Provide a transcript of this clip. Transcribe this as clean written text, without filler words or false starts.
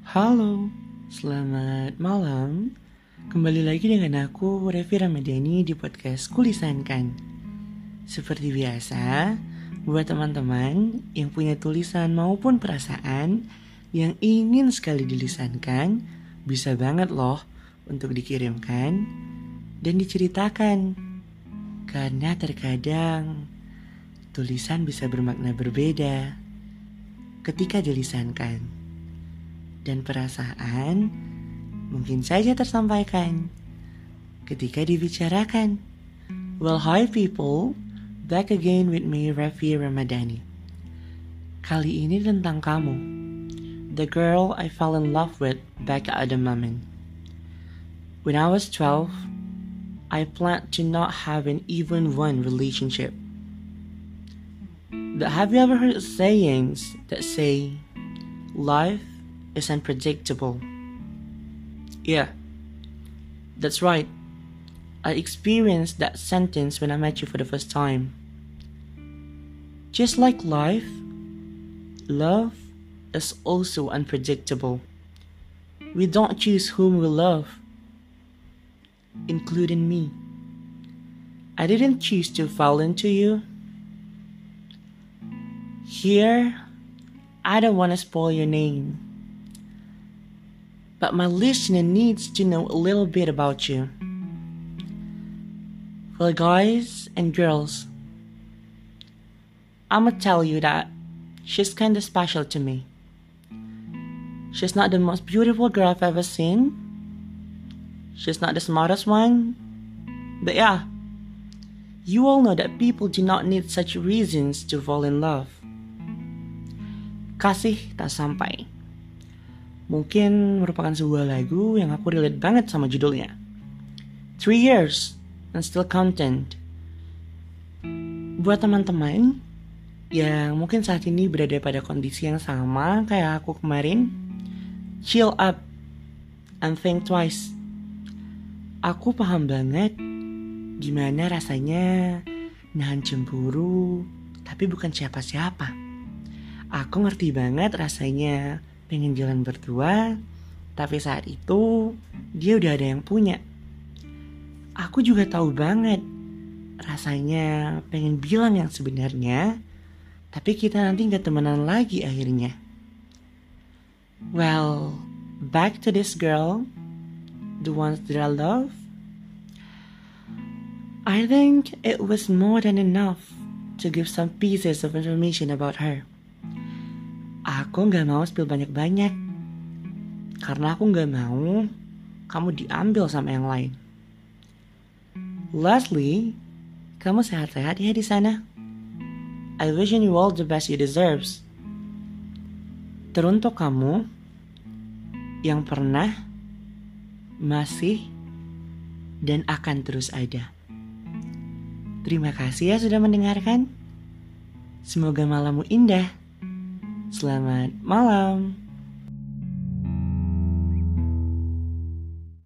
Halo, selamat malam. Kembali lagi dengan aku, Revi Ramadhani di podcast Kulisankan. Seperti biasa, buat teman-teman yang punya tulisan maupun perasaan yang ingin sekali dilisankan, bisa banget loh untuk dikirimkan dan diceritakan. Karena terkadang tulisan bisa bermakna berbeda ketika dilisankan. Dan perasaan mungkin saja tersampaikan ketika dibicarakan. Well, hi people, back again with me, Revi Ramadhani. Kali ini tentang kamu, the girl I fell in love with back at the moment. When I was 12, I planned to not have an even one relationship. But have you ever heard sayings that say, life is unpredictable? Yeah, that's right. I experienced that sentence when I met you for the first time. Just like life, love is also unpredictable. We don't choose whom we love, including me. I didn't choose to fall into you. Here, I don't want to spoil your name, but my listener needs to know a little bit about you. Well, guys and girls, I'ma tell you that she's kinda special to me. She's not the most beautiful girl I've ever seen. She's not the smartest one. But yeah, you all know that people do not need such reasons to fall in love. Kasih tak sampai. Mungkin merupakan sebuah lagu yang aku relate banget sama judulnya. 3 years and still content. Buat teman-teman yang mungkin saat ini berada pada kondisi yang sama kayak aku kemarin, chill up and think twice. Aku paham banget gimana rasanya nahan cemburu tapi bukan siapa-siapa. Aku ngerti banget rasanya pengen jalan berdua, tapi saat itu dia udah ada yang punya. Aku juga tahu banget rasanya pengen bilang yang sebenarnya, tapi kita nanti gak temenan lagi akhirnya. Well, back to this girl, the ones that I love. I think it was more than enough to give some pieces of information about her. Aku gak mau spill banyak-banyak, karena aku gak mau kamu diambil sama yang lain. Lastly, kamu sehat-sehat ya di sana. I wish you all the best you deserves. Teruntuk kamu yang pernah, masih, dan akan terus ada. Terima kasih ya sudah mendengarkan. Semoga malammu indah. Selamat malam.